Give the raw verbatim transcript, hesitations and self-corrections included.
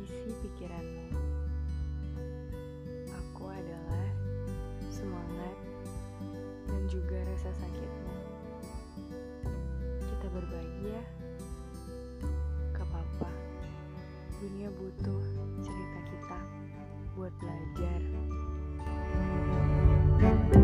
isi pikiranmu. Aku adalah semangat dan juga rasa sakitmu. Kita berbagi ya. Gak apa-apa. Dunia butuh cerita kita buat belajar.